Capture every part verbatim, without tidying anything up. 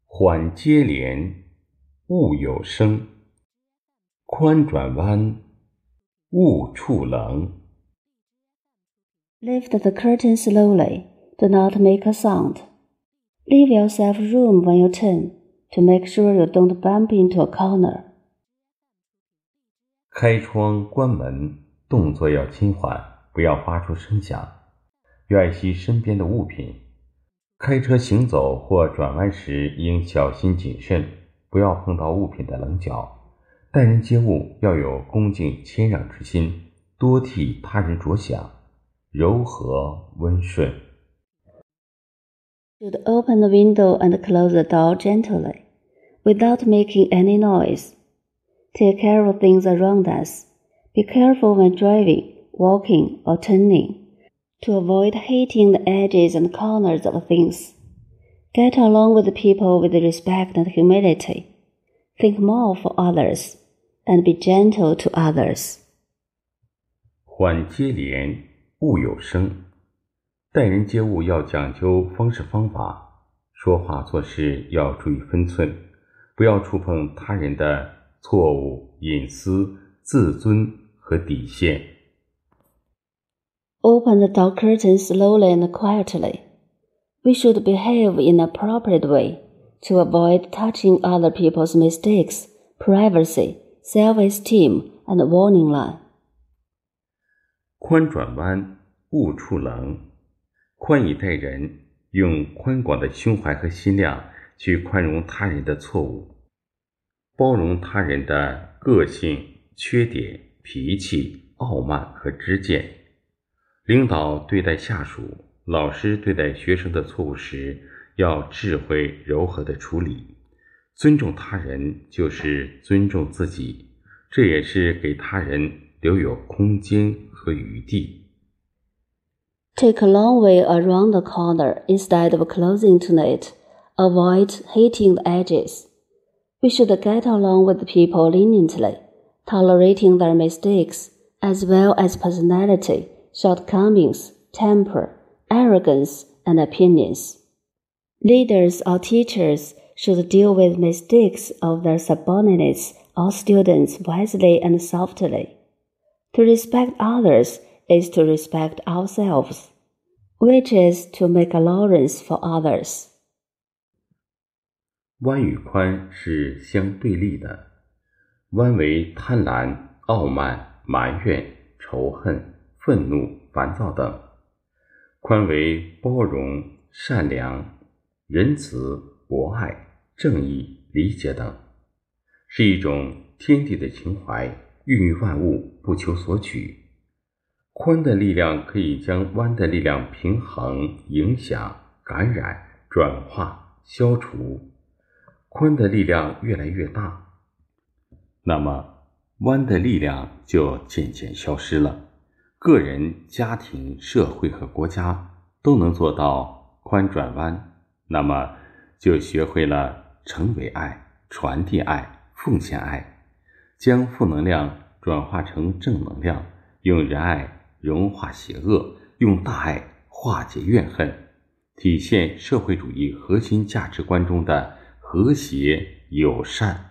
缓接连，勿有声；宽转弯，勿触棱。 Lift the curtain slowly, do not make a sound. Leave yourself room when you turn, to make sure you don't bump into a corner. 开窗关门，动作要轻缓，不要发出声响，要爱惜身边的物品。开车行走或转弯时应小心谨慎，不要碰到物品的棱角。待人接物要有恭敬谦让之心，多替他人着想，柔和温顺。 Should open the window and close the door gently, without making any noise. Take care of things around us. Be careful when driving, walking, or turning, to avoid hitting the edges and corners of things. Get along with people with respect and humility. Think more for others, and be gentle to others. 缓接连，勿有声。待人接物要讲究方式方法，说话做事要注意分寸，不要触碰他人的错误、隐私、自尊和底线。 Open the door curtain slowly and quietly. We should behave in an appropriate way to avoid touching other people's mistakes, privacy, self-esteem, and warning line. 宽转弯，勿触棱。宽以待人，用宽广的胸怀和心量去宽容他人的错误，包容他人的个性、缺点、脾气、傲慢和知见。领导对待下属，老师对待学生的错误时，要智慧柔和地处理。尊重他人就是尊重自己，这也是给他人留有空间和余地。 Take a long way around the corner instead of closing to it. Avoid hitting the edges. We should get along with people leniently, tolerating their mistakes, as well as personality, shortcomings, temper, arrogance, and opinions. Leaders or teachers should deal with mistakes of their subordinates or students wisely and softly. To respect others is to respect ourselves, which is to make allowance for others. 弯与宽是相对立的，弯为贪婪、傲慢、埋怨、仇恨、愤怒、烦躁等，宽为包容、善良、仁慈、博爱、正义、理解等，是一种天地的情怀，孕育万物，不求索取。宽的力量可以将弯的力量平衡、影响、感染、转化、消除。宽的力量越来越大，那么弯的力量就渐渐消失了。个人、家庭、社会和国家都能做到宽转弯，那么就学会了成为爱、传递爱、奉献爱，将负能量转化成正能量，用仁爱融化邪恶，用大爱化解怨恨，体现社会主义核心价值观中的和谐友善。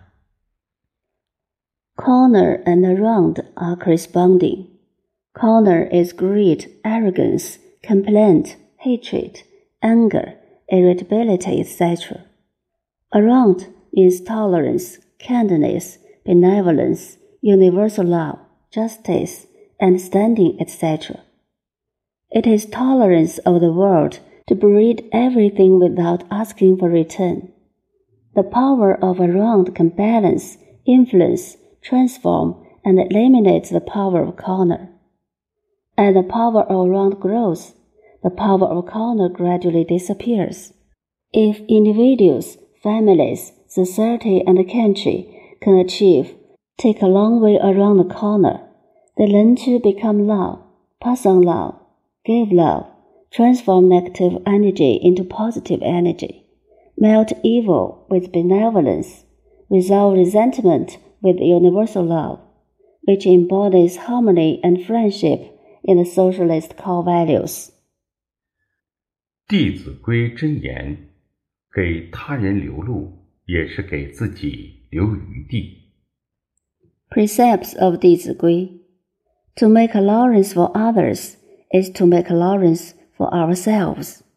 Corner and round are corresponding. Corner is greed, arrogance, complaint, hatred, anger, irritability, et cetera. Around means tolerance, kindness, benevolence, universal love, justice, understanding, et cetera. It is tolerance of the world to breed everything without asking for return. The power of around can balance, influence, transform, and eliminate the power of corner. As the power of around grows, the power of corner gradually disappears. If individuals, families, society, and the country can achieve, take a long way around the corner, they learn to become love, pass on love, give love, transform negative energy into positive energy, melt evil with benevolence, resolve resentment with universal love, which embodies harmony and friendship in the socialist core values. 弟子规真言： 给他人留路，也是给自己留余地。 Precepts of 弟子规 To make allowance for others is to make allowance for ourselves.